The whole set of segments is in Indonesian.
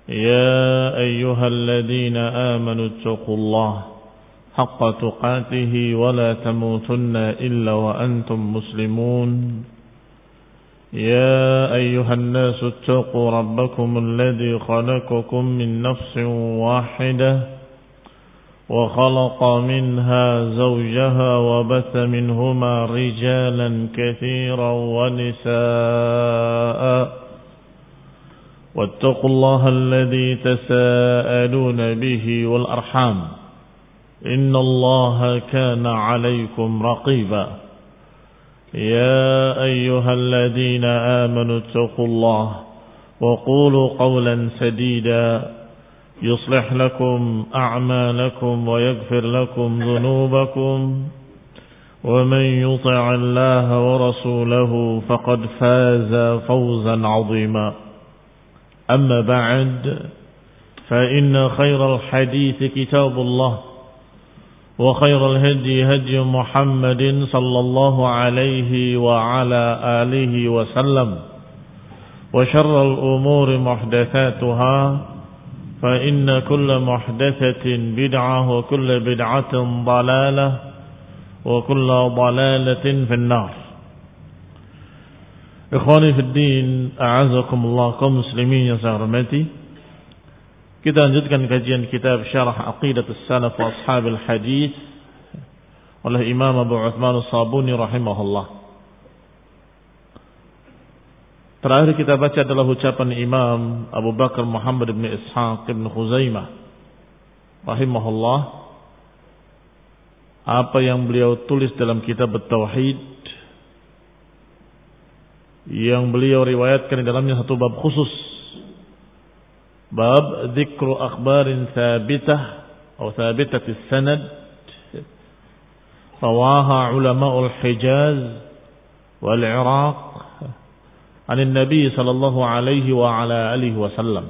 يا أيها الذين آمنوا اتقوا الله حق تقاته ولا تموتن إلا وأنتم مسلمون يا أيها الناس اتقوا ربكم الذي خلقكم من نفس واحدة وخلق منها زوجها وبث منهما رجالا كثيرا ونساء واتقوا الله الذي تساءلون به والأرحام إن الله كان عليكم رقيبا يا أيها الذين آمنوا اتقوا الله وقولوا قولا سديدا يصلح لكم أعمالكم ويغفر لكم ذنوبكم ومن يطع الله ورسوله فقد فاز فوزا عظيما أما بعد فإن خير الحديث كتاب الله وخير الهدي هدي محمد صلى الله عليه وعلى آله وسلم وشر الأمور محدثاتها فإن كل محدثة بدعة وكل بدعة ضلالة وكل ضلالة في النار. Ikhwani fi din, a'azakumullah kaum muslimin yang saya hormati. Kita lanjutkan kajian kitab Syarah Aqidatus Salaf wa Ashabil Hadis oleh Imam Abu Uthman As-Sabuni rahimahullah. Terakhir kita baca adalah ucapan Imam Abu Bakar Muhammad bin Ishaq bin Khuzaimah rahimahullah, apa yang beliau tulis dalam kitab At-Tauhid, yang beliau riwayatkan di dalamnya satu bab khusus, bab dzikru akhbarin thabitah atau thabitatis sanad rawaha ulama'ul Hijaz wal Iraq an Nabi sallallahu alaihi wa ala alihi wasallam,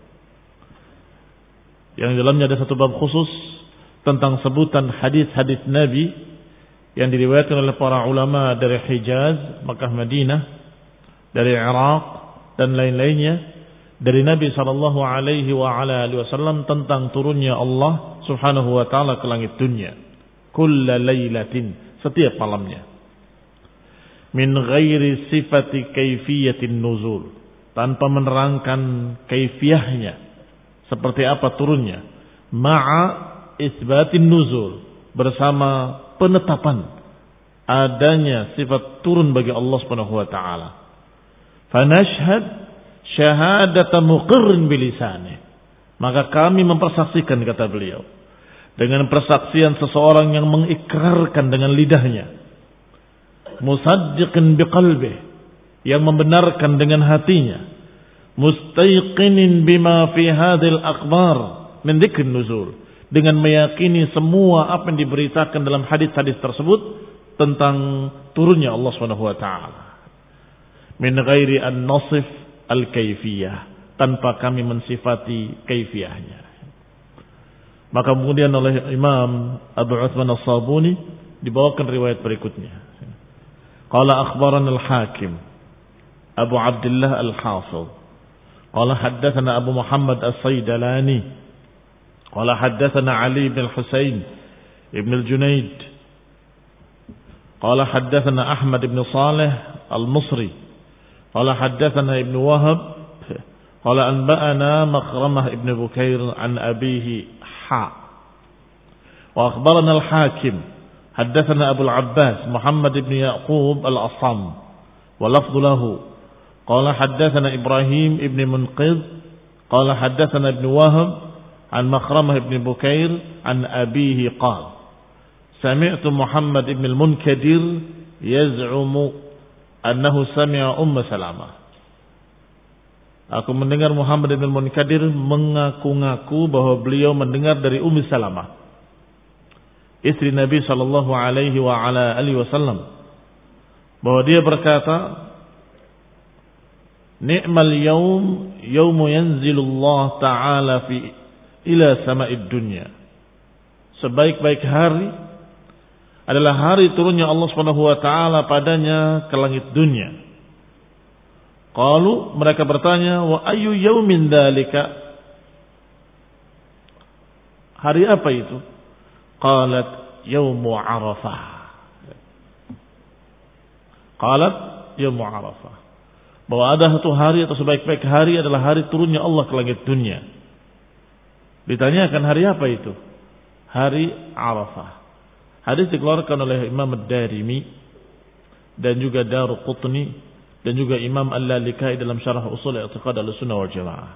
yang di dalamnya ada satu bab khusus tentang sebutan hadis-hadis Nabi yang diriwayatkan oleh para ulama dari Hijaz, Makkah, Madinah, dari Iraq dan lain-lainnya dari Nabi sallallahu alaihi wa ala alihi wasallam tentang turunnya Allah Subhanahu wa taala ke langit dunia kulla lailatin, setiap malamnya, min ghairi sifati kaifiyatin nuzul, tanpa menerangkan kaifiyahnya seperti apa turunnya, ma'a isbatin nuzul, bersama penetapan adanya sifat turun bagi Allah Subhanahu wa taala. Fanashhad syahadata muqirrin bilisanih, maka kami mempersaksikan, kata beliau, dengan persaksian seseorang yang mengikrarkan dengan lidahnya, musaddiqin biqalbih, yang membenarkan dengan hatinya, mustayqinin bima fi hadhil akhbar min dzikrin nuzul, dengan meyakini semua apa yang diberitakan dalam hadis-hadis tersebut tentang turunnya Allah Subhanahu wa taala, min ghairi an nasif al-kaifiyah, tanpa kami mensifati kaifiyahnya. Maka kemudian oleh Imam Abu Uthman As-Sabuni dibawakan riwayat berikutnya. Qala akhbarana al-Hakim Abu Abdullah al-Hafidh qala haddatsana Abu Muhammad As-Saydalani qala haddatsana Ali bin Husain ibn al-Junayd qala haddatsana Ahmad ibn Salih al-Musri qala haddatsana Ibn Wahab qala anba'ana Makhramah ibn Bukair an abihi wa akhbarana al-Hakim haddatsana Abu al-Abbas Muhammad ibn Yaqub al-Assam wa lafdhu lahu qala haddatsana Ibrahim ibn Munqidh qala haddatsana Ibn Wahab an Makhramah ibn Bukair an abihi qala sami'tu Muhammad ibn al-Munkadir yaz'umu annahu sami'a Salamah. Aku mendengar Muhammad bin Munkadir mengaku-ngaku bahwa beliau mendengar dari Ummu Salamah, istri Nabi sallallahu alaihi wa ala alihi wasallam, bahwa dia berkata, "Ni'mal yaum yaumu yanzilullah ta'ala fi ila sama'id dunya." Sebaik-baik hari adalah hari turunnya Allah Subhanahu wa taala padanya ke langit dunia. Qalu, mereka bertanya, wa ayyu yaumin dzalika? Hari apa itu? Qalat yaumu Arafah. Qalat yaumu Arafah. Bahwa ada satu hari atau sebaik-baik hari adalah hari turunnya Allah ke langit dunia. Ditanyakan hari apa itu? Hari Arafah. Hadis dikeluarkan oleh Imam Ad-Darimi dan juga Daruqutni dan juga Imam Al-Lalikai dalam syarah usul i'tiqad Ahlussunnah wal Jamaah.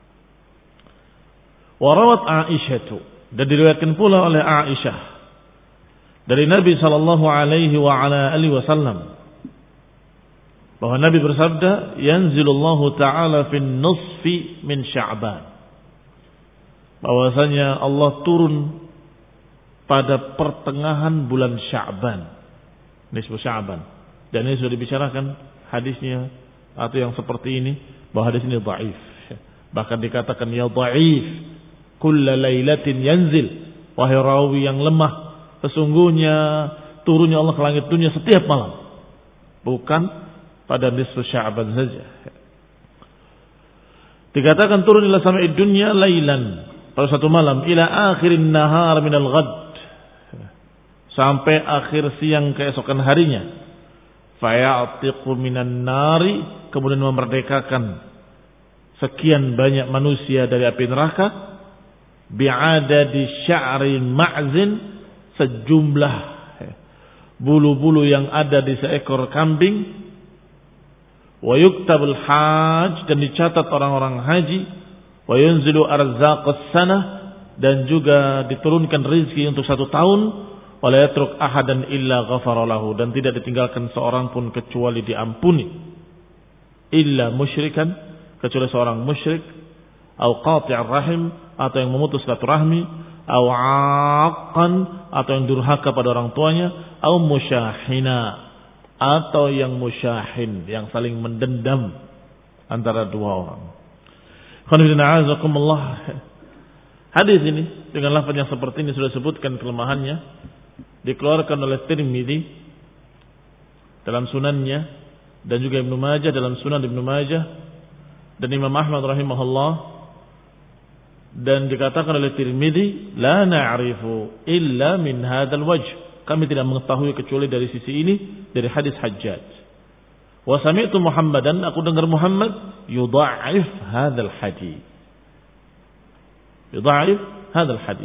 Wa rawat Aisyah, dan diriwayatkan pula oleh Aisyah dari Nabi sallallahu alaihi wa ala alihi wasallam bahwa Nabi bersabda, yanzilullahu ta'ala fin nusfi min Sya'ban. Bahwasanya Allah turun pada pertengahan bulan Sya'ban, nisfu Sya'ban. Dan ini sudah dibicarakan hadisnya atau yang seperti ini, bahwa hadis ini dhaif. Bahkan dikatakan ya dhaif, kulla lailatin yanzil, wahai rawi yang lemah, sesungguhnya turunnya Allah ke langit dunia setiap malam, bukan pada nisfu Sya'ban saja. Dikatakan turun ila sama'id dunya lailan, pada satu malam, ila akhirin nahar minal ghad, sampai akhir siang keesokan harinya. Faya'tiqu minan nari, kemudian memerdekakan sekian banyak manusia dari api neraka, bi'adadi sya'rin ma'zin, sejumlah bulu-bulu yang ada di seekor kambing, wa yuktabul hajj, dan dicatat orang-orang haji, wa yunzilu arzaqas sanah, dan juga diturunkan rezeki untuk 1 tahun, wa la yatruk ahadan illa ghafara lahu, dan tidak ditinggalkan seorang pun kecuali diampuni, illa musyrikan, kecuali seorang musyrik, au qati'ar rahim, atau yang memutus silaturahmi, au 'aqqan, atau yang durhaka pada orang tuanya, au musyahina, atau yang musyahin, yang saling mendendam antara dua orang. Hadis ini dengan lafaz yang seperti ini sudah sebutkan kelemahannya, dikeluarkan oleh Tirmidzi dalam sunannya, dan juga Ibnu Majah dalam sunan Ibnu Majah, dan Imam Ahmad rahimahullah, dan dikatakan oleh Tirmidzi, la na'rifu illa min hadzal wajh, kami tidak mengetahui kecuali dari sisi ini, dari hadis Hajjaj. Wa sami'tu Muhammadan, aku dengar Muhammad yudha'if hadzal hadis. Yudha'if hadzal hadis.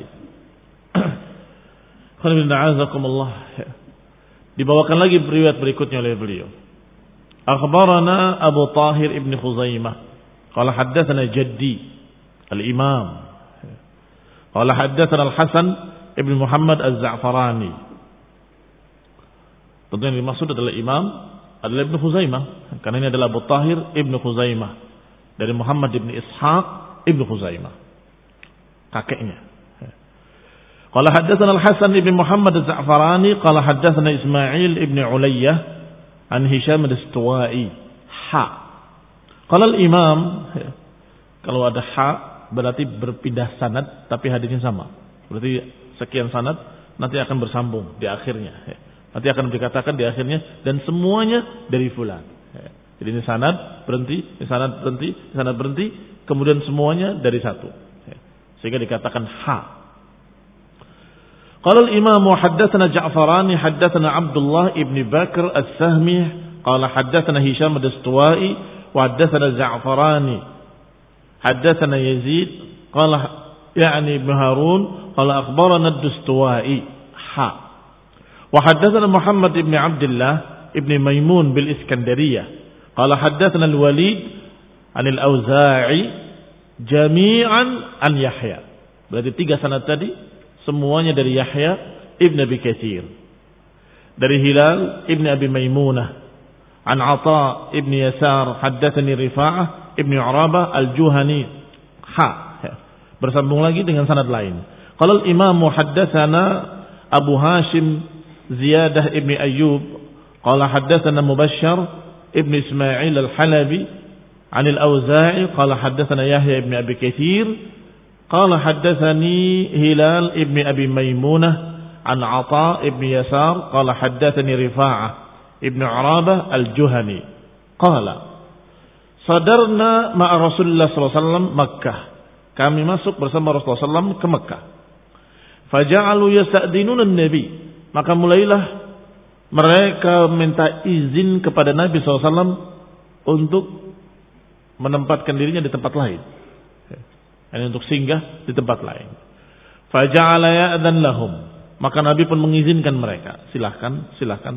Dibawakan lagi riwayat berikutnya oleh beliau. Akhbarana Abu Tahir ibn Khuzaimah qala haddatsana jaddi al-Imam qala haddatsana al-Hasan ibn Muhammad az-Za'farani. Tentu yang dimaksud adalah imam adalah Ibnu Khuzaimah, karena ini adalah Abu Tahir ibn Khuzaimah dari Muhammad ibn Ishaq ibn Khuzaimah, kakeknya. Qala haddatsana al-Hasan ibn Muhammad az-Za'farani qala haddatsana Ismail ibn Ulayyah an Hisham ad-Dastuwai. Qala al-Imam, kalau ada ha berarti berpindah sanad tapi hadisnya sama. Berarti sekian sanad nanti akan bersambung di akhirnya. Nanti akan dikatakan di akhirnya, dan semuanya dari fulan. Jadi ini sanad berhenti, ini sanad berhenti, ini sanad berhenti, kemudian semuanya dari satu. Sehingga dikatakan ha. Qala al-Imam haddatsana Ja'farani haddatsana Abdullah ibn Bakr as-Sahmi qala haddatsana Hisham ad-Dastuwai wa haddatsana Ja'farani haddatsana Yazid qala yani ibn Harun qala akhbarana ad-Dastuwai ha. Wa haddatsana Muhammad ibn Abdullah ibn Maimun bil Iskandariyah qala haddatsana al-Walid an al-Auza'i jami'an an Yahya. Berarti 3 sanad tadi semuanya dari Yahya ibn Abi Katsir, dari Hilal ibn Abi Maimunah, an Atha ibn Yasar haddatsani Rifa'ah ibn Urabah al-Juhani ha. Bersambung lagi dengan sanad lain. Qala al-Imam haddatsana Abu Hashim Ziyadah ibn Ayyub qala haddatsana Mubashshar ibn Ismail al-Halabi an al-Auza'i qala haddatsana Yahya ibn Abi Katsir qala haddatsani Hilal ibn Abi Maimunah an Atha ibn Yasar qala haddatsani Rifa'ah ibn Urabah al-Juhani qala sadarna ma'a Rasulullah sallallahu alaihi wasallam Makkah, kami masuk bersama Rasulullah sallallahu alaihi wasallam ke Makkah. Faja'alu yasta'dinuna an-nabi. Maka mulailah mereka minta izin kepada Nabi SAW untuk menempatkan dirinya di tempat lain. Ini untuk singgah di tempat lain. Faja'ala ya'dan lahum. Maka Nabi pun mengizinkan mereka. Silahkan.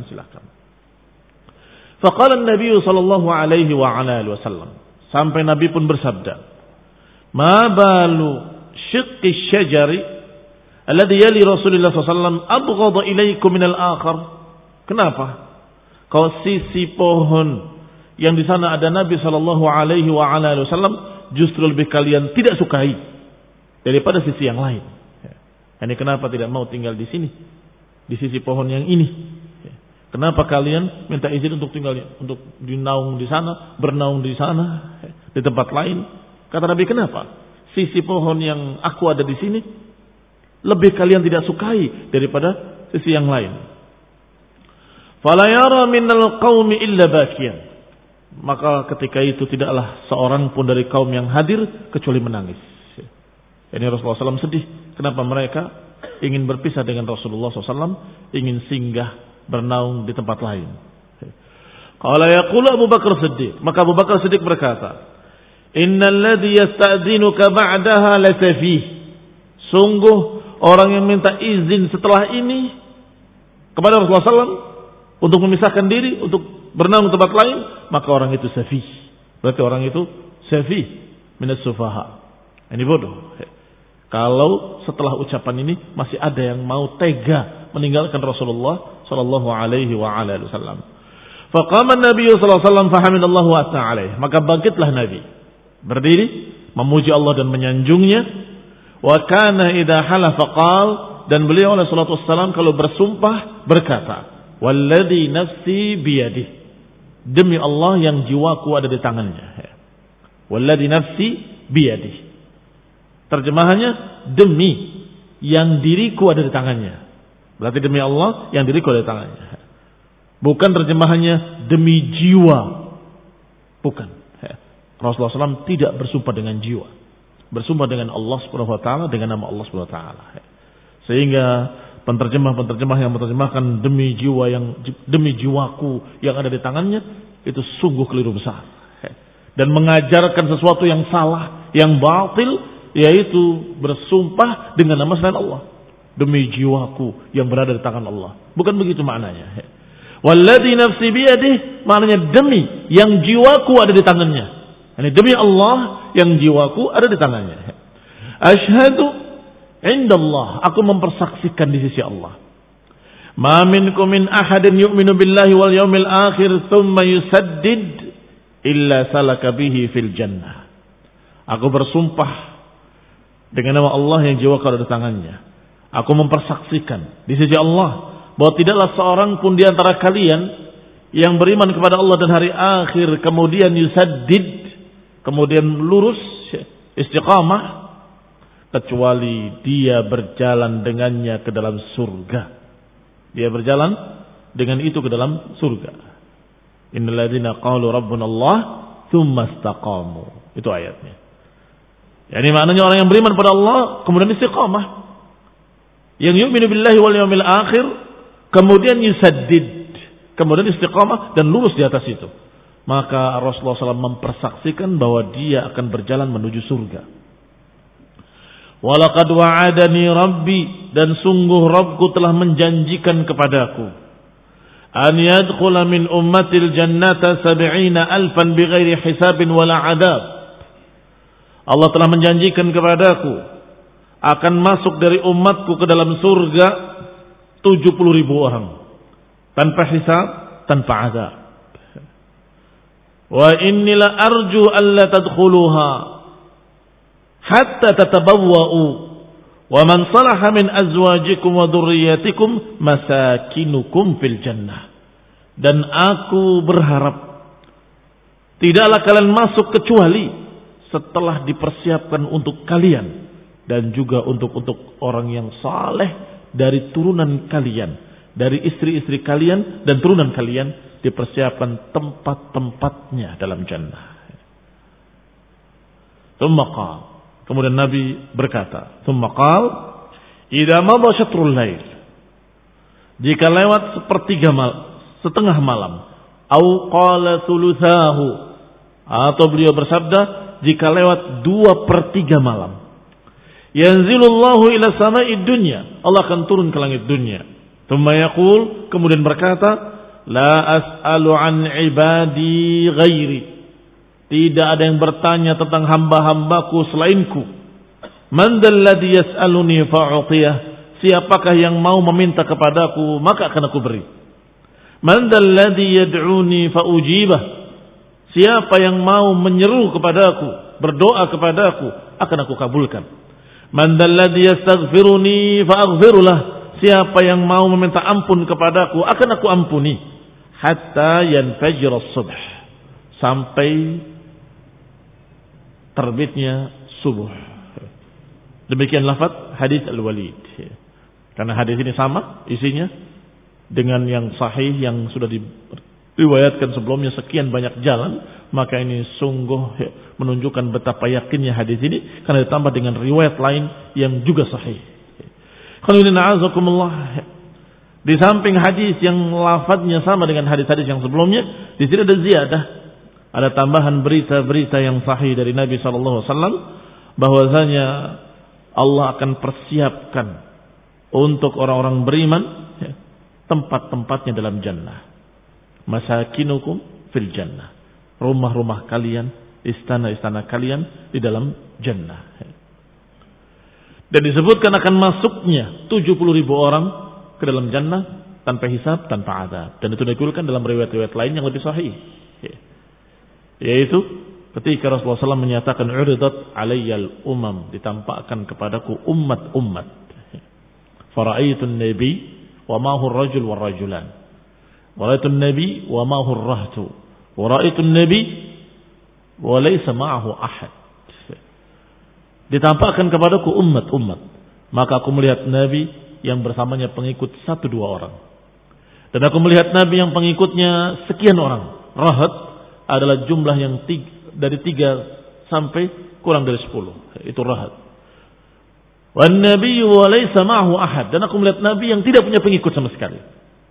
Faqala an-nabi sallallahu alaihi wa ala alihi wasallam. Sampai Nabi pun bersabda, "Ma balu syiqqi syajari alladhi yali Rasulullah sallallahu alaihi wasallam abghadha ilaikum minal akhar?" Kenapa? Kalau sisi pohon yang di sana ada Nabi sallallahu alaihi wa ala alihi wasallam justru lebih kalian tidak sukai daripada sisi yang lain. Ini kenapa tidak mau tinggal di sini? Di sisi pohon yang ini. Kenapa kalian minta izin untuk tinggal untuk dinaung di sana, bernaung di sana, di tempat lain? Kata Nabi, kenapa? Sisi pohon yang aku ada di sini lebih kalian tidak sukai daripada sisi yang lain. Fala yara minal qaumi illa bakiyan. Maka ketika itu tidaklah seorang pun dari kaum yang hadir kecuali menangis. Ini Rasulullah SAW sedih. Kenapa mereka ingin berpisah dengan Rasulullah SAW, ingin singgah bernaung di tempat lain. Qala yaqulu Abu Bakar Siddiq. Maka Abu Bakar Siddiq berkata, "Innal ladzi yasta'dzinuka ba'daha lasafih." Sungguh orang yang minta izin setelah ini kepada Rasulullah SAW untuk memisahkan diri, untuk bernaung di tempat lain, maka orang itu safih. Berarti orang itu safih minas sufaha. Ini bodoh. Kalau setelah ucapan ini masih ada yang mau tega meninggalkan Rasulullah sallallahu alaihi wa ala alihi wasallam. Faqama an-nabiy sallallahu alaihi wasallam fahamidallahu wa ta'ala. Maka bangkitlah Nabi, berdiri memuji Allah dan menyanjungnya. Wa kana idza halafa qal, dan beliau alaihi salatu wasallam kalau bersumpah berkata, "Walladzi nafsi biyadihi." Demi Allah yang jiwaku ada di tangannya. Walladzi nafsi biyadihi. Terjemahannya, demi yang diriku ada di tangannya. Berarti demi Allah yang diriku ada di tangannya. Bukan terjemahannya demi jiwa. Bukan. Rasulullah SAW tidak bersumpah dengan jiwa. Bersumpah dengan Allah Subhanahu wa taala, dengan nama Allah Subhanahu wa taala. Sehingga penterjemah yang menerjemahkan demi jiwaku yang ada di tangannya itu sungguh keliru besar. Dan mengajarkan sesuatu yang salah, yang batil, yaitu bersumpah dengan nama selain Allah. Demi jiwaku yang berada di tangan Allah. Bukan begitu maknanya. Walladzi nafsi biyadihi, maknanya demi yang jiwaku ada di tangannya. Ini demi Allah yang jiwaku ada di tangannya. Asyhadu indallah, aku mempersaksikan di sisi Allah. Ma minkum min ahadin yu'minu billahi wal yawmil akhir thumma yusaddid illa salaka bihi fil jannah. Aku bersumpah dengan nama Allah yang jiwaku ada di tangannya. Aku mempersaksikan di sisi Allah bahwa tidaklah seorang pun di antara kalian yang beriman kepada Allah dan hari akhir kemudian yusaddid, kemudian lurus istiqamah, kecuali dia berjalan dengannya ke dalam surga. Dia berjalan dengan itu ke dalam surga. Innal ladzina qalu rabbuna Allah tsumma istaqamu. Itu ayatnya. Yani maknanya orang yang beriman pada Allah kemudian istiqamah. Yang yu'minu billahi wal yawmil akhir kemudian yusaddid, kemudian istiqamah dan lurus di atas itu. Maka Rasulullah SAW mempersaksikan bahwa dia akan berjalan menuju surga. Walaqad wa'adani Rabbi, dan sungguh Rabbku telah menjanjikan kepadaku, an yadkhula min ummatil jannata 70,000 bighairi hisabin wala adab. Allah telah menjanjikan kepadaku akan masuk dari umatku ke dalam surga 70.000 orang tanpa hisab, tanpa azab. Wa inni la arju alla tadkhuluha hatta tatabawwa'u wa man salaha min azwajikum wa dhurriyyatikum masakinukum fil jannah. Dan aku berharap tidaklah kalian masuk kecuali setelah dipersiapkan untuk kalian dan juga untuk orang yang saleh dari turunan kalian, dari istri-istri kalian dan turunan kalian, dipersiapkan tempat-tempatnya dalam jannah. Tsumma qala, kemudian Nabi berkata, tsumma qala idza madha syatrul lail, jika lewat setengah malam, au qala thuluthahu, atau beliau bersabda jika lewat 2/3 malam, yanzilullahu ila sama'id dunya, Allah akan turun ke langit dunia. Tsumma yaqul, kemudian berkata, la as'alu an ibadi ghairi, tidak ada yang bertanya tentang hamba-hambaku selainku. Man dalladhi yas'aluni fa'utiyah, siapakah yang mau meminta kepadaku maka akan aku beri. Man dalladhi yad'uni fa'ujibah, siapa yang mau menyeru kepadaku, berdoa kepadaku, akan aku kabulkan. Man dalladhi yastaghfiruni fa'aghfirulah, siapa yang mau meminta ampun kepadaku akan aku ampuni. Hatta yanfajir as-subh, sampai terbitnya subuh. Demikian lafaz hadis Al-Walid. Karena hadis ini sama isinya dengan yang sahih yang sudah diriwayatkan sebelumnya sekian banyak jalan, maka ini sungguh menunjukkan betapa yakinnya hadis ini karena ditambah dengan riwayat lain yang juga sahih. Di samping hadis yang lafadznya sama dengan hadis-hadis yang sebelumnya, di sini ada ziyadah, ada tambahan berita-berita yang sahih dari Nabi sallallahu alaihi wasallam bahwasanya Allah akan persiapkan untuk orang-orang beriman tempat-tempatnya dalam jannah. Masakinukum fil jannah, rumah-rumah kalian, istana-istana kalian di dalam jannah. Dan disebutkan akan masuknya 70.000 orang ke dalam jannah tanpa hisab, tanpa azab. Dan itu dikulikan dalam riwayat-riwayat lain yang lebih sahih, yaitu ketika Rasulullah SAW menyatakan uridat alayyal umam, ditampakkan kepadaku umat-umat. Fara'aitun nabi wa ma huwa ar-rajul war rajulan. Wara'aitun nabi wa ma huwa ar-rahtu. Wara'aitun nabi wa laysa ma'ahu ahad. Ditampakkan kepadaku umat-umat, maka aku melihat nabi yang bersamanya pengikut 1-2 orang. Dan aku melihat nabi yang pengikutnya sekian orang. Rahat adalah jumlah yang dari 3 sampai kurang dari 10. Itu rahat. Wan nabiyyu wa laysa ma'ahu ahad, dan aku melihat nabi yang tidak punya pengikut sama sekali.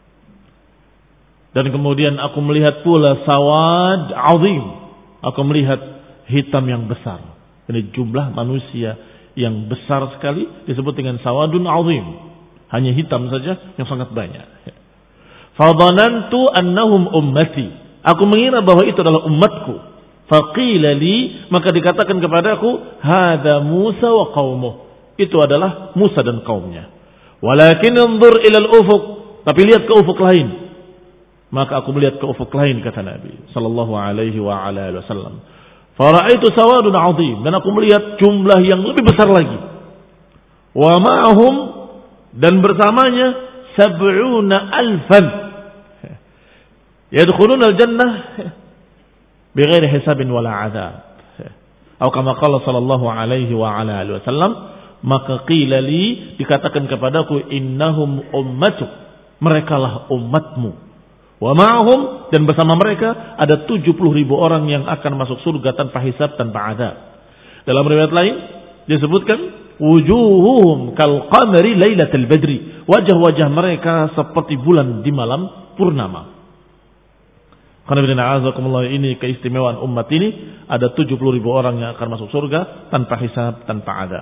Dan kemudian aku melihat pula sawad azim, aku melihat hitam yang besar. Ini jumlah manusia yang besar sekali disebut dengan sawadun azim, hanya hitam saja yang sangat banyak. Fadhanantu annahum ummati, aku mengira bahwa itu adalah umatku. Faqila li, maka dikatakan kepadaku, hadza Musa wa qaumuh, itu adalah Musa dan kaumnya. Walakin anzur ila al-ufuq, tapi lihat ke ufuk lain. Maka aku melihat ke ufuk lain, kata Nabi sallallahu alaihi wa ala alihi wasallam. Fara'aitu sawadun 'azim, dan aku melihat jumlah yang lebih besar lagi. Wa ma'ahum, dan bersamanya 70,000 yadkhuluna al-jannah bighairi hisabin wala 'adzab. Atau kama qala sallallahu alaihi wa ala alihi wasallam, maka qila li, dikatakan kepadaku, innahum ummatuk, merekalah umatmu. Wa ma'hum, dan bersama mereka ada 70.000 orang yang akan masuk surga tanpa hisab, tanpa azab. Dalam riwayat lain disebutkan wujuhuhum kal qamari lailatul badri, wajah-wajah mereka seperti bulan di malam purnama. Karena ini keistimewaan umat ini, ada 70.000 orang yang akan masuk surga tanpa hisab, tanpa azab.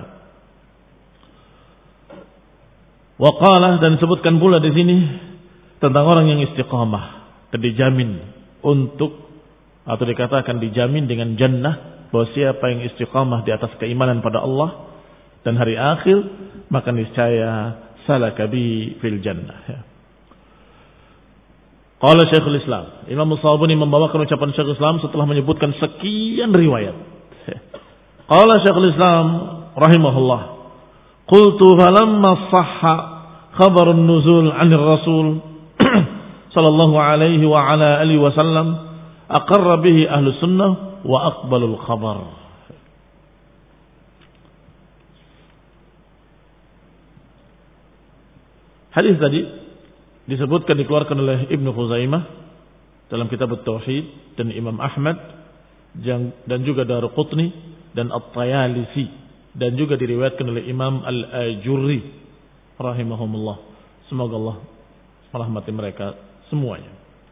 Wa qala, dan disebutkan pula di sini tentang orang yang istiqamah dan dijamin untuk, atau dikatakan dijamin dengan jannah, bahwa siapa yang istiqamah di atas keimanan pada Allah dan hari akhir, maka niscaya salaka bi fil jannah. Qala Syekhul Islam, Imam Shawbani membawakan ucapan Syekhul Islam setelah menyebutkan sekian riwayat. Qala Syekhul Islam rahimahullah, qultu falamma sahha khabarun nuzul 'anil rasul sallallahu alaihi wa ala alihi wasallam aqarra bihi ahlus sunnah wa aqbalul khabar. Hadis tadi disebutkan, dikeluarkan oleh Ibnu Khuzaimah dalam kitab At-Tauhid, dan Imam Ahmad dan juga Daruqutni dan At-Tayalisi, dan juga diriwayatkan oleh Imam Al-Ajurri rahimahumullah. Semoga Allah merahmati mereka semuanya.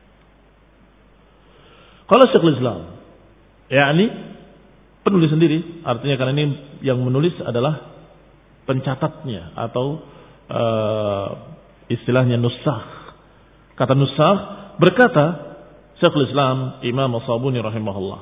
Kalau Syekhul Islam, yakni penulis sendiri, artinya karena ini yang menulis adalah pencatatnya atau istilahnya nusakh. Kata nusakh berkata Syekhul Islam Imam As-Sabuni rahimahullah.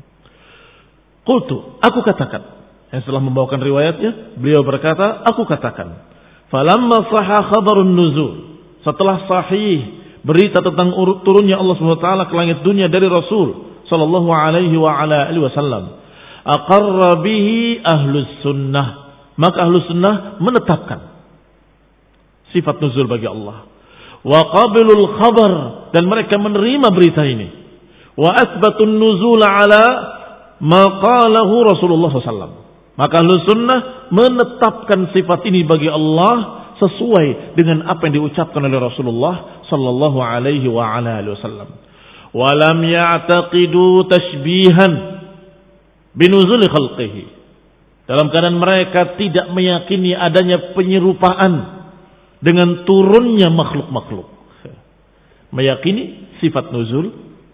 Qultu, aku katakan. Yang setelah membawakan riwayatnya, beliau berkata, aku katakan. Falamma sahha khabarun nuzul. Setelah sahih berita tentang turunnya Allah SWT ke langit dunia dari Rasul sallallahu alaihi wa ala alihi wasallam, aqarra bihi ahlus sunnah. Maka ahlus sunnah menetapkan sifat nuzul bagi Allah. Wa qabilul khabar, dan mereka menerima berita ini. Wa asbatun nuzul ala ma qalahu Rasulullah SAW. Maka ahlus sunnah menetapkan sifat ini bagi Allah sesuai dengan apa yang diucapkan oleh Rasulullah sallallahu alaihi wa ala alihi wasallam. Wa lam ya'taqidu tashbihan binuzul khalqihi. Dalam keadaan mereka tidak meyakini adanya penyerupaan dengan turunnya makhluk-makhluk. Meyakini sifat nuzul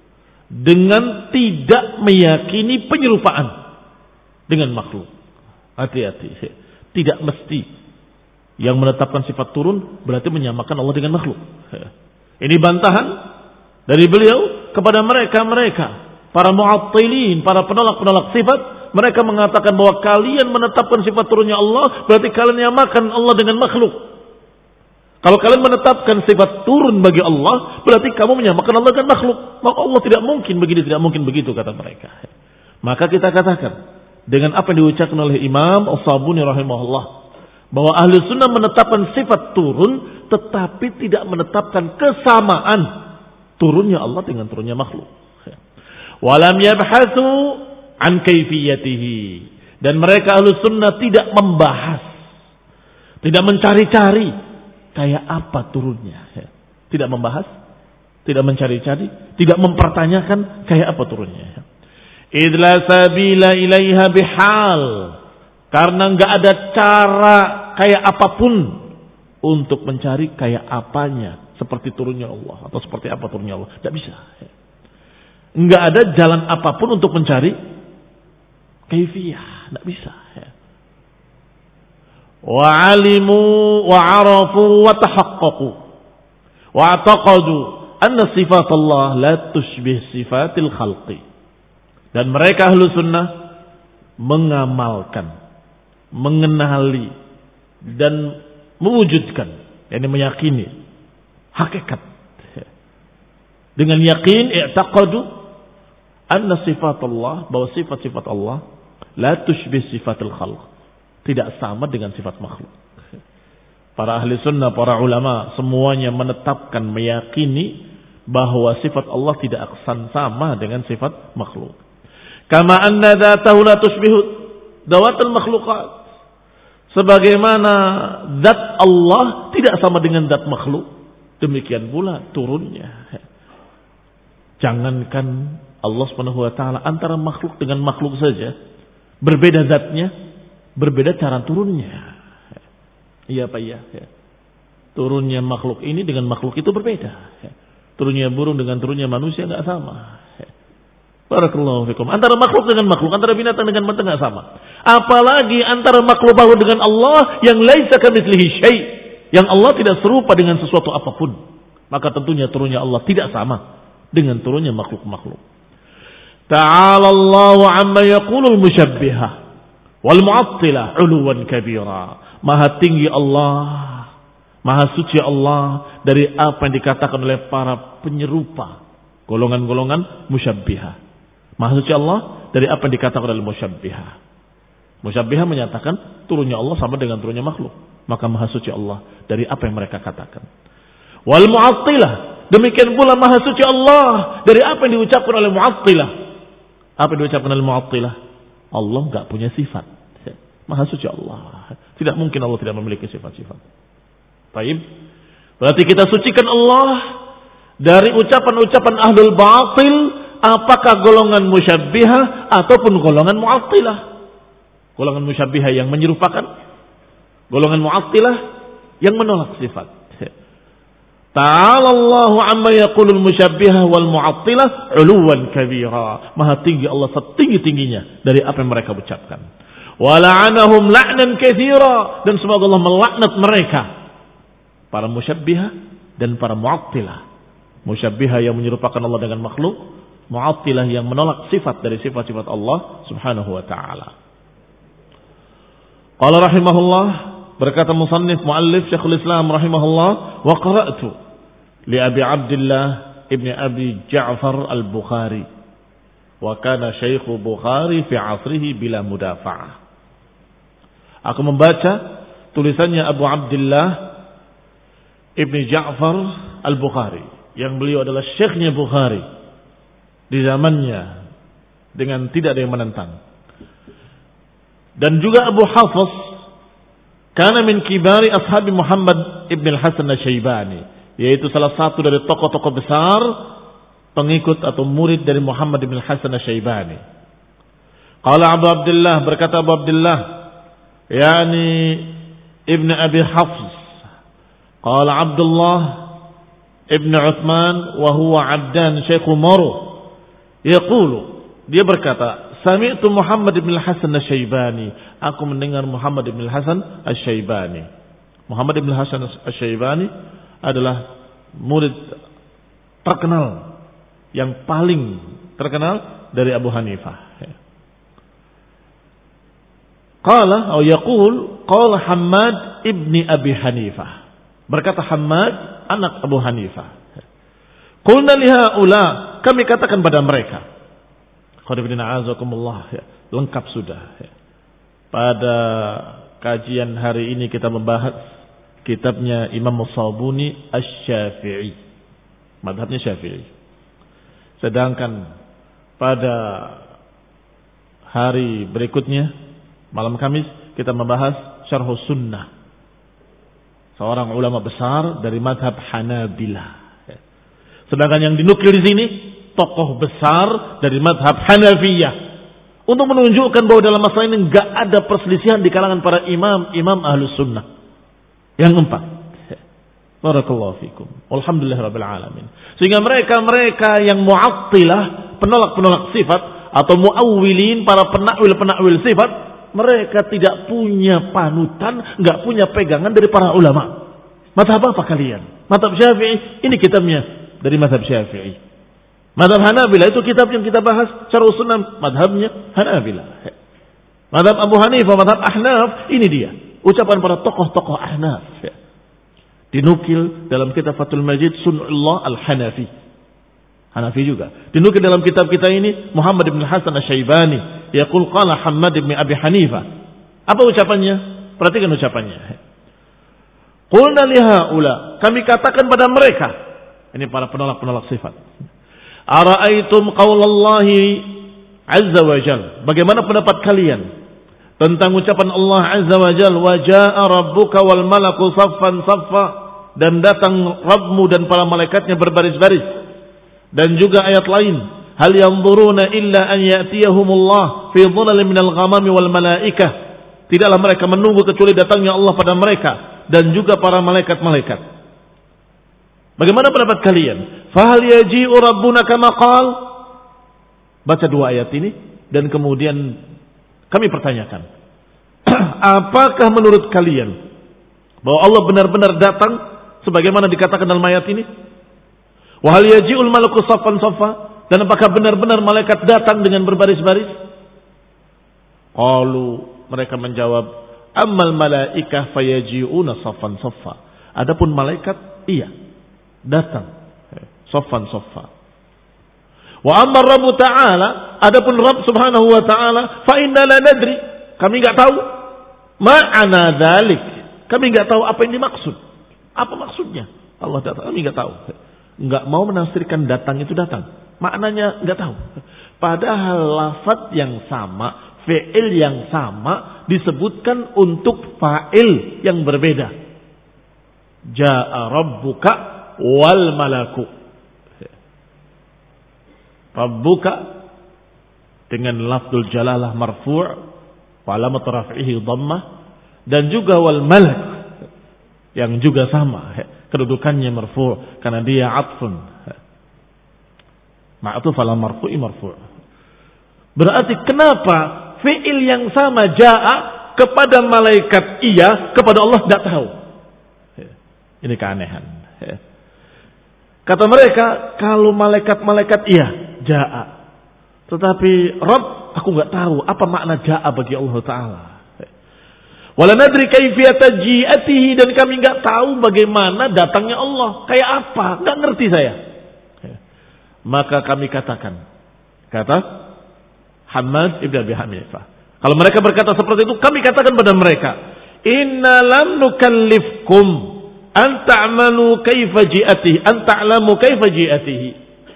dengan tidak meyakini penyerupaan dengan makhluk. Hati-hati. Tidak mesti yang menetapkan sifat turun berarti menyamakan Allah dengan makhluk. Ini bantahan dari beliau kepada mereka para mu'attilin, para penolak-penolak sifat. Mereka mengatakan bahwa kalian menetapkan sifat turunnya Allah berarti kalian menyamakan Allah dengan makhluk. Kalau kalian menetapkan sifat turun bagi Allah berarti kamu menyamakan Allah dengan makhluk. Maka Allah tidak mungkin begini, tidak mungkin begitu, kata mereka. Maka kita katakan dengan apa yang diucapkan oleh Imam As-Sabuni rahimahullah, bahwa ahli sunnah menetapkan sifat turun tetapi tidak menetapkan kesamaan turunnya Allah dengan turunnya makhluk. Walam yabhatsu an kaifiyatihi, dan mereka ahli sunnah tidak membahas, tidak mencari-cari kayak apa turunnya. Tidak membahas, tidak mencari-cari, tidak mempertanyakan kayak apa turunnya. Idla sabila ilaiha bihal, karena enggak ada cara kayak apapun untuk mencari kayak apanya, seperti turunnya Allah atau seperti apa turunnya Allah. Tidak bisa. Enggak ada jalan apapun untuk mencari kaifiyah. Tidak bisa. Wa alimu wa arafu wa tahaqqaqu wa i'taqadu anna sifat Allah la tushbih sifatil khalqi. Dan mereka ahlu sunnah mengamalkan, mengenali dan mewujudkan, yakni meyakini hakikat. Dengan yakin i'taqadu anna sifat Allah, bahwa sifat-sifat Allah la tushbih sifatul khalq, tidak sama dengan sifat makhluk. Para ahli sunnah, para ulama semuanya menetapkan, meyakini bahwa sifat Allah tidak akan sama dengan sifat makhluk. Kama anna dzatahu la tushbihu dawatul makhluqat, sebagaimana zat Allah tidak sama dengan zat makhluk, demikian pula turunnya. Jangankan Allah Subhanahu wa taala, antara makhluk dengan makhluk saja berbeda zatnya, berbeda cara turunnya. Iya Pak, iya. Turunnya makhluk ini dengan makhluk itu berbeda. Turunnya burung dengan turunnya manusia enggak sama. Barakallahu fikum. Antara makhluk dengan makhluk, antara binatang dengan binatang enggak sama. Apalagi antara makhluk bahu dengan Allah yang laisa kamitslihi syai', yang Allah tidak serupa dengan sesuatu apapun. Maka tentunya turunnya Allah tidak sama dengan turunnya makhluk-makhluk. Ta'ala Allahu 'amma yaqulul musyabbihah wal mu'attilah 'uluwan kabira. Maha tinggi Allah, maha suci Allah dari apa yang dikatakan oleh para penyerupa, golongan-golongan musyabbihah. Maha suci Allah dari apa yang dikatakan oleh musyabbihah. Musyabbihah menyatakan turunnya Allah sama dengan turunnya makhluk. Maka maha suci Allah dari apa yang mereka katakan. Wal mu'attilah, demikian pula maha suci Allah dari apa yang diucapkan oleh mu'attilah. Apa yang diucapkan oleh mu'attilah? Allah enggak punya sifat. Maha suci Allah. Tidak mungkin Allah tidak memiliki sifat-sifat. Baik. Berarti kita sucikan Allah dari ucapan-ucapan ahlul batil, apakah golongan musyabbihah ataupun golongan mu'attilah. Golongan musyabbihah yang menyerupakan, golongan mu'attilah yang menolak sifat. Ta'ala Allahu amma yaqulul musyabbihah wal mu'attilah 'uluwan kabira. Maha tinggi Allah setinggi-tingginya dari apa yang mereka ucapkan. Wa la'anahum la'nan katsira, dan semoga Allah melaknat mereka, para musyabbihah dan para mu'attilah. Musyabbihah yang menyerupakan Allah dengan makhluk, mu'attilah yang menolak sifat dari sifat-sifat Allah Subhanahu wa taala. Qala rahimahullah, berkata musannif muallif Syekhul Islam rahimahullah, wa qara'tu li Abi Abdullah ibn Abi Ja'far al-Bukhari wa kana Syekh Bukhari fi 'asrihi bila mudafa'ah. Aku membaca tulisannya Abu Abdullah ibn Ja'far al-Bukhari, yang beliau adalah syekhnya Bukhari di zamannya dengan tidak ada yang menentang. Dan juga Abu Hafiz kana min kibari ashabi Muhammad ibn al-Hasan al-Syaibani, yaitu salah satu dari tokoh-tokoh besar pengikut atau murid dari Muhammad ibn al-Hasan al-Syaibani. Qala Abu Abdullah, berkata Abu Abdullah, yani ibn Abi Hafs, qala Abdullah ibn Uthman wa huwa Abdan Syekh Umar, yaqulu, dia berkata, sami'tu Muhammad ibn al-Hasan al-Syaibani, aku mendengar Muhammad ibn al-Hasan al-Syaibani. Muhammad ibn al-Hasan al-Syaibani adalah murid terkenal, yang paling terkenal dari Abu Hanifah. Qala atau yaqul qala Hammad ibni Abi Hanifah, berkata Hammad anak Abu Hanifah. Qulna lihaula, kami katakan pada mereka, qadibina azakumullah, lengkap sudah. Pada kajian hari ini kita membahas kitabnya Imam As-Sabuni Asy-Syafi'i, mazhabnya Syafi'i. Sedangkan pada hari berikutnya, malam Kamis, kita membahas Syarhus Sunnah, seorang ulama besar dari mazhab Hanabilah. Sedangkan yang dinukil di sini tokoh besar dari mazhab Hanafiyah, untuk menunjukkan bahwa dalam masalah ini enggak ada perselisihan di kalangan para imam Ahlus Sunnah. Yang keempat, barakallahu fikum, alhamdulillahirabbil alamin. Sehingga mereka yang mu'attilah, penolak-penolak sifat, atau mu'awwilin, para penakwil sifat, mereka tidak punya panutan, enggak punya pegangan dari para ulama. Mazhab apa kalian? Mazhab Syafi'i, ini kitabnya dari mazhab Syafi'i. Mazhab Hanabilah itu kitab yang kita bahas, Syarh Sunnah, mazhabnya Hanabilah. Mazhab Abu Hanifah, mazhab Ahnaf, ini dia ucapan para tokoh-tokoh Ahnaf. Dinukil dalam kitab Fathul Majid Sun'ullah Al-Hanafi. Hanafi juga. Dinukil dalam kitab kita ini Muhammad ibn Hasan Asy-Syaibani, yaqul qala Hammad ibn Abi Hanifah. Apa ucapannya? Perhatikan ucapannya. Qulna lihaula, kami katakan pada mereka, ini para penolak-penolak sifat, ara'aitum qaulallahi azza wa jal, bagaimana pendapat kalian tentang ucapan Allah azza wa jal, wa jaa rabbuka wal malaku saffan saffa, dan datang Rabbmu dan para malaikatnya berbaris-baris. Dan juga ayat lain, hal yanzuruna illa an ya'tiyahumullah fi dhulalin minal ghamami wal malaikah, tidaklah mereka menunggu kecuali datangnya Allah pada mereka dan juga para malaikat-malaikat. Bagaimana pendapat kalian? Fahal yaji'u rabbuna kama qal? Baca dua ayat ini dan kemudian kami pertanyakan, apakah menurut kalian bahwa Allah benar-benar datang sebagaimana dikatakan dalam ayat ini? Wa hal yaji'ul malaku saffan saffa, dan apakah benar-benar malaikat datang dengan berbaris-baris? Qalu, mereka menjawab, ammal malaikah fayaji'una saffan saffa. Adapun malaikat, iya, datang saffan saffa. Wa amma Rabb ta'ala, adapun Rabb Subhanahu wa ta'ala, fa inna la nadri, kami enggak tahu ma'ana dzalik, kami enggak tahu apa yang dimaksud. Apa maksudnya? Allah datang, kami enggak tahu. Enggak mau menafsirkan datang itu datang. Maknanya enggak tahu. Padahal lafaz yang sama, fi'il yang sama disebutkan untuk fa'il yang berbeda. Ja'a rabbuka wal malaku. Rabbuka dengan lafzul jalalah marfu' wa alamat raf'ihi dhammah, dan juga wal malak yang juga sama kedudukannya marfu' karena dia atfun. Ma'tuf ala marfu'i marfu'. Berarti kenapa fi'il yang sama ja'a kepada malaikat iya, kepada Allah tidak tahu. Ini keanehan. Kata mereka, kalau malaikat-malaikat iya, ja'a. Tetapi Rabb, aku nggak tahu apa makna ja'a bagi Allah Ta'ala. Wala nadri kaifiyata ji'atihi, dan kami nggak tahu bagaimana datangnya Allah. Kayak apa? Nggak ngerti saya. Maka kami katakan, kata Hammad ibn Abi Hanifah, kalau mereka berkata seperti itu, kami katakan pada mereka, inna lam nukallifkum an ta'malu kaifa ji'atihi, an ta'lamu kaifa ji'atihi,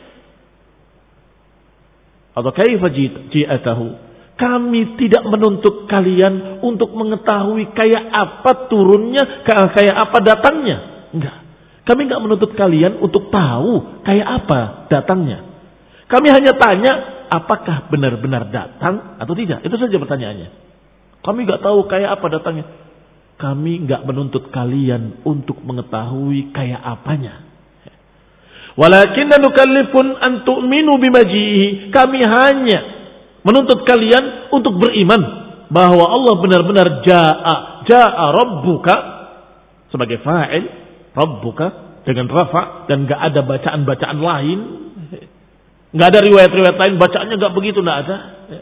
atau kaifa ji'atahu. Kami tidak menuntut kalian untuk mengetahui kayak apa turunnya, kayak apa datangnya. Enggak. Kami enggak menuntut kalian untuk tahu kayak apa datangnya. Kami hanya tanya, apakah benar-benar datang atau tidak. Itu saja pertanyaannya. Kami enggak tahu kayak apa datangnya. Kami enggak menuntut kalian untuk mengetahui kayak apanya. Walakinna nukallifun an tu'minu bimajihi. Kami hanya menuntut kalian untuk beriman bahwa Allah benar-benar ja'a rabbuka sebagai fa'il, rabbuka dengan rafa, dan enggak ada bacaan-bacaan lain. Enggak ada riwayat-riwayat lain bacaannya enggak begitu, enggak ada.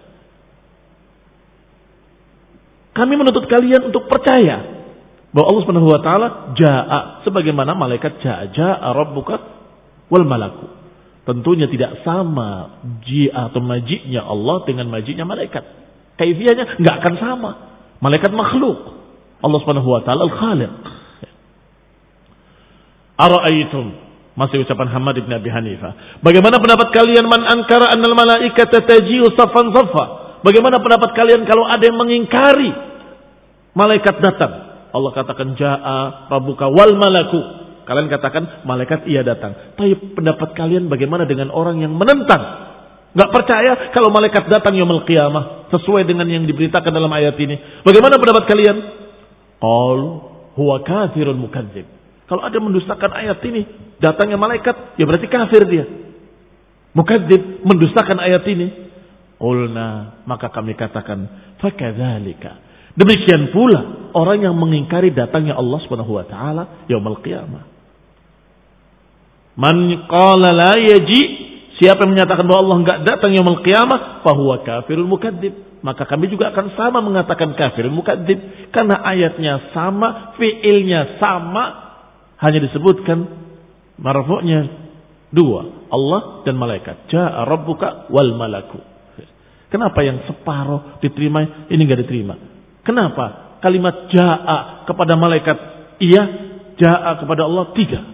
Kami menuntut kalian untuk percaya bahwa Allah Subhanahu wa taala ja'a sebagaimana malaikat ja'a rabbuka wal malaku. Tentunya tidak sama ji'a atau maji'nya Allah dengan maji'nya malaikat. Kaifiyahnya enggak akan sama. Malaikat makhluk, Allah Subhanahu wa taala al-Khaliq. Ara'aitum, masih ucapan Hammad bin Abi Hanifah. Bagaimana pendapat kalian man ankara annal malaikata taji'u saffan saffa? Bagaimana pendapat kalian kalau ada yang mengingkari malaikat datang? Allah katakan ja'a rabbuka wal malaku. Kalian katakan malaikat iya datang. Tapi pendapat kalian bagaimana dengan orang yang menentang? Enggak percaya kalau malaikat datang yaumul qiyamah sesuai dengan yang diberitakan dalam ayat ini. Bagaimana pendapat kalian? Qal huwa kafirun mukadzib. Kalau ada mendustakan ayat ini, datangnya malaikat, ya berarti kafir dia. Mukadzib, mendustakan ayat ini. Qulna, maka kami katakan, fakadzalika. Demikian pula orang yang mengingkari datangnya Allah Subhanahu wa taala yaumul qiyamah. Man qala la yaji, siapa yang menyatakan bahwa Allah enggak datang yaumul qiyamah, fahuwa kafirun mukadzib. Maka kami juga akan sama mengatakan kafirun mukadzib, karena ayatnya sama, fiilnya sama, hanya disebutkan marfu'nya dua, Allah dan malaikat. Ja'a rabbuka wal malaku. Kenapa yang separuh diterima, ini enggak diterima? Kenapa kalimat ja'a kepada malaikat iya, ja'a kepada Allah tidak?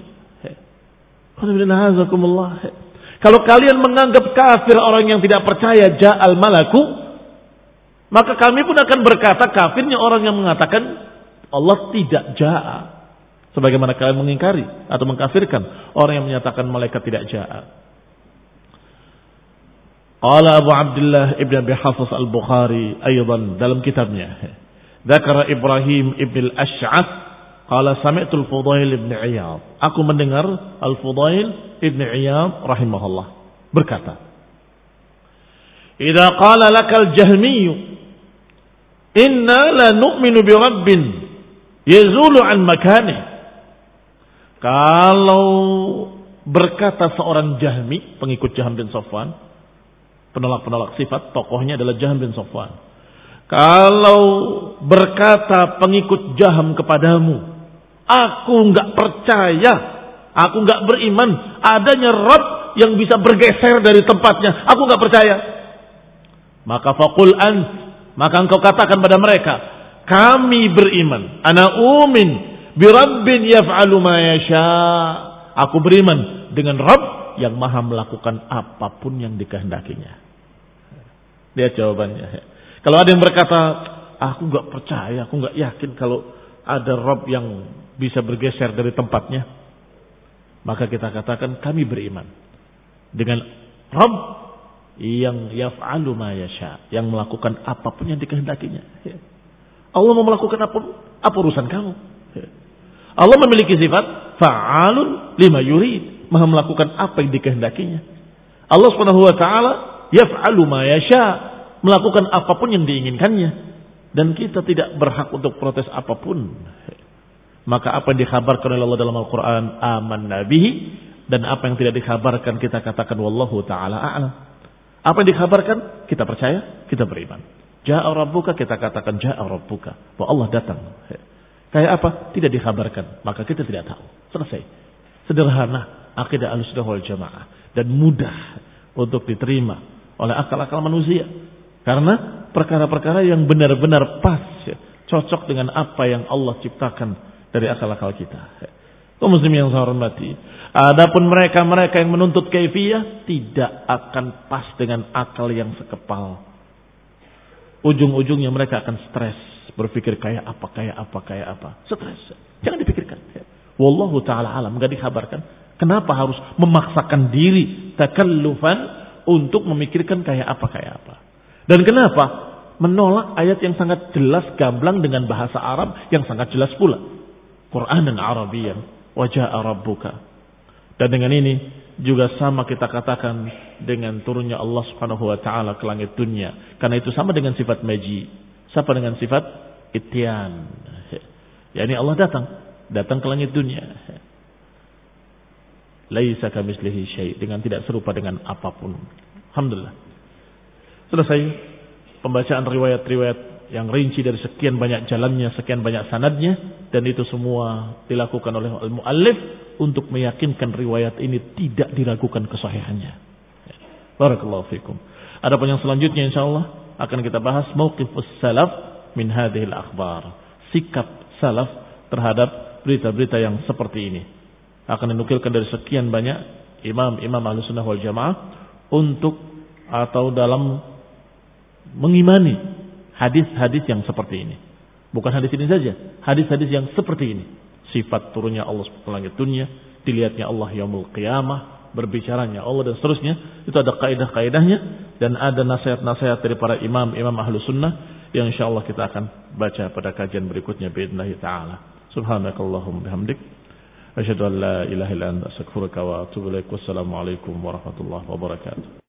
Kalau kalian menganggap kafir orang yang tidak percaya ja'al malaku, maka kami pun akan berkata kafirnya orang yang mengatakan Allah tidak ja'a. Sebagaimana kalian mengingkari atau mengkafirkan orang yang menyatakan malaikat tidak ja'a. Qala Abu Abdullah Ibn Abi Hafiz Al-Bukhari aydan dalam kitabnya, Dzakara Ibrahim Ibn Al-Ash'ath qala sami'tu Al-Fudail Ibn Iyad. Aku mendengar Al-Fudail Ibn Iyad rahimahullah berkata, "Idza qala lakal Jahmiyyu inna la nu'minu bi rabbin yazulu an makanihi." Kalau berkata seorang Jahmi, pengikut Jahm bin Safwan, penolak-penolak sifat, tokohnya adalah Jahm bin Safwan. Kalau berkata pengikut Jahm kepadamu, aku enggak percaya, aku enggak beriman adanya Rabb yang bisa bergeser dari tempatnya, aku enggak percaya. Maka faqul ant, maka engkau katakan pada mereka, kami beriman, ana umin bi rabbin yaf'alu ma yasha. Aku beriman dengan Rabb yang maha melakukan apapun yang dikehendakinya. Lihat jawabannya. Kalau ada yang berkata, aku enggak percaya, aku enggak yakin kalau ada Rabb yang bisa bergeser dari tempatnya, maka kita katakan kami beriman dengan Rabb yang yaf'alu ma yasha, yang melakukan apapun yang dikehendakinya. Allah mau melakukan apa urusan kamu? Allah memiliki sifat fa'alun lima yurid, maha melakukan apa yang dikehendakinya. Allah Subhanahu wa taala yaf'alu ma yasha, melakukan apapun yang diinginkannya, dan kita tidak berhak untuk protes apapun. Maka apa yang dikhabarkan oleh Allah dalam Al-Qur'an amanna bihi, dan apa yang tidak dikhabarkan kita katakan wallahu taala a'lam. Apa yang dikhabarkan kita percaya, kita beriman. Ja'a rabbuka, kita katakan ja'a rabbuka, bahwa Allah datang. Kayak apa? Tidak dikhabarkan, maka kita tidak tahu. Selesai. Sederhana akidah Ahlussunnah wal Jamaah, dan mudah untuk diterima oleh akal-akal manusia. Karena perkara-perkara yang benar-benar pas, cocok dengan apa yang Allah ciptakan dari akal-akal kita. Kaum muslimin yang saya hormati, adapun mereka yang menuntut kaifiyah tidak akan pas dengan akal yang sekepal. Ujung-ujungnya mereka akan stres, berpikir kayak apa. Stres. Jangan dipikirkan. Wallahu ta'ala alam, enggak dikabarkan. Kenapa harus memaksakan diri takallufan untuk memikirkan kayak apa. Dan kenapa menolak ayat yang sangat jelas gamblang dengan bahasa Arab yang sangat jelas pula. Qur'anan Arabiyyan wa jaa'a rabbuka. Dan dengan ini juga sama kita katakan dengan turunnya Allah Subhanahu wa taala ke langit dunia. Karena itu sama dengan sifat maji. Sama dengan sifat ityan. Yani Allah datang ke langit dunia. Laisa kamitslihi syai', dengan tidak serupa dengan apapun. Alhamdulillah. Selesai pembacaan riwayat-riwayat yang rinci dari sekian banyak jalannya, sekian banyak sanadnya, dan itu semua dilakukan oleh al-muallif untuk meyakinkan riwayat ini tidak diragukan kesahihannya. Barakallahu fikum. Adapun yang selanjutnya insyaallah akan kita bahas mauqifus salaf min hadhil akhbar. Sikap salaf terhadap berita-berita yang seperti ini. Akan dinukilkan dari sekian banyak imam-imam Ahlussunnah wal Jamaah untuk atau dalam mengimani hadis-hadis yang seperti ini. Bukan hadis ini saja, hadis-hadis yang seperti ini. Sifat turunnya Allah ke langit dunia, dilihatnya Allah yaumul qiyamah, berbicaranya Allah dan seterusnya. Itu ada kaidah-kaidahnya dan ada nasihat-nasihat dari para imam-imam Ahlussunnah yang insyaallah kita akan baca pada kajian berikutnya باذنillah taala. Subhanakallahumma bihamdik asyhadu an la ilaha illa anta astaghfiruka wa atubu ilaik. Wassalamu alaikum warahmatullahi wabarakatuh.